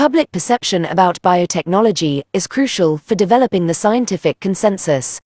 Public perception about biotechnology is crucial for developing the scientific consensus.